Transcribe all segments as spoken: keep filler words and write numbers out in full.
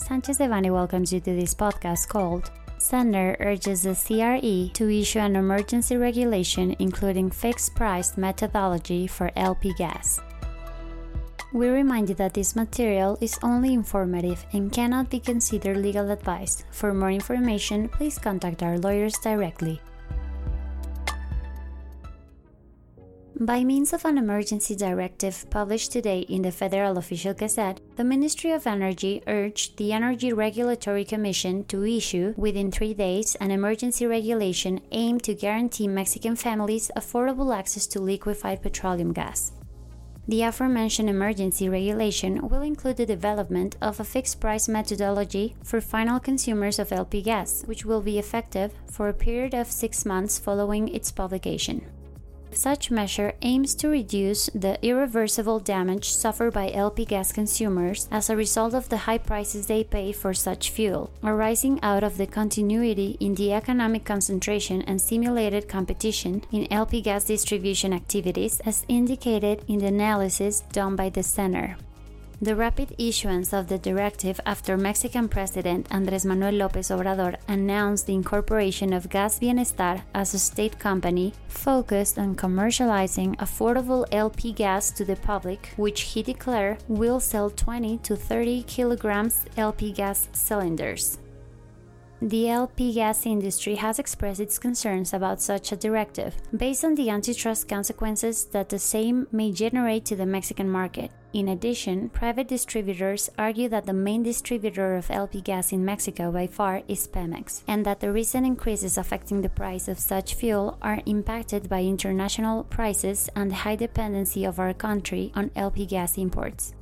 Sanchez Devanny welcomes you to this podcast called Sender urges the C R E to issue an emergency regulation including fixed-price methodology for L P gas. We remind you that this material is only informative and cannot be considered legal advice. For more information, please contact our lawyers directly. By means of an emergency directive published today in the Federal Official Gazette, the Ministry of Energy urged the Energy Regulatory Commission to issue, within three days, an emergency regulation aimed to guarantee Mexican families affordable access to liquefied petroleum gas. The aforementioned emergency regulation will include the development of a fixed-price methodology for final consumers of L P gas, which will be effective for a period of six months following its publication. Such measure aims to reduce the irreversible damage suffered by L P gas consumers as a result of the high prices they pay for such fuel, arising out of the continuity in the economic concentration and simulated competition in L P gas distribution activities, as indicated in the analysis done by the Center. The rapid issuance of the directive after Mexican President Andrés Manuel López Obrador announced the incorporation of Gas Bienestar as a state company focused on commercializing affordable L P gas to the public, which he declared will sell twenty to thirty kilograms L P gas cylinders. The L P gas industry has expressed its concerns about such a directive, based on the antitrust consequences that the same may generate to the Mexican market. In addition, private distributors argue that the main distributor of L P gas in Mexico by far is Pemex, and that the recent increases affecting the price of such fuel are impacted by international prices and the high dependency of our country on L P gas imports.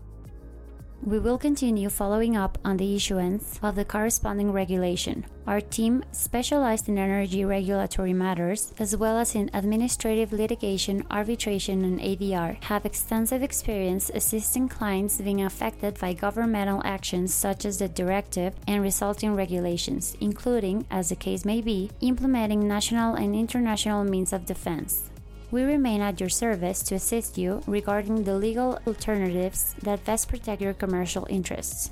We will continue following up on the issuance of the corresponding regulation. Our team, specialized in energy regulatory matters, as well as in administrative litigation, arbitration, and A D R, have extensive experience assisting clients being affected by governmental actions such as the directive and resulting regulations, including, as the case may be, implementing national and international means of defense. We remain at your service to assist you regarding the legal alternatives that best protect your commercial interests.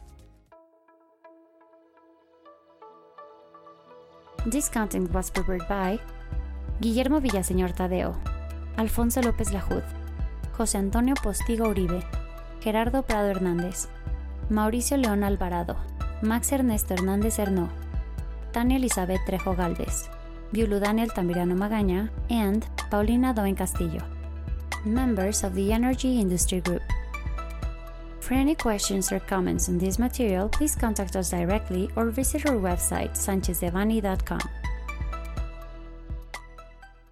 This content was prepared by Guillermo Villaseñor Tadeo, Alfonso López Lajud, José Antonio Postigo Uribe, Gerardo Prado Hernández, Mauricio León Alvarado, Max Ernesto Hernández Hernó, Tania Elizabeth Trejo Galvez, Viulu Daniel Tamirano Magaña, and Paulina Doen Castillo, members of the Energy Industry Group. For any questions or comments on this material, please contact us directly or visit our website sanchez devanny dot com.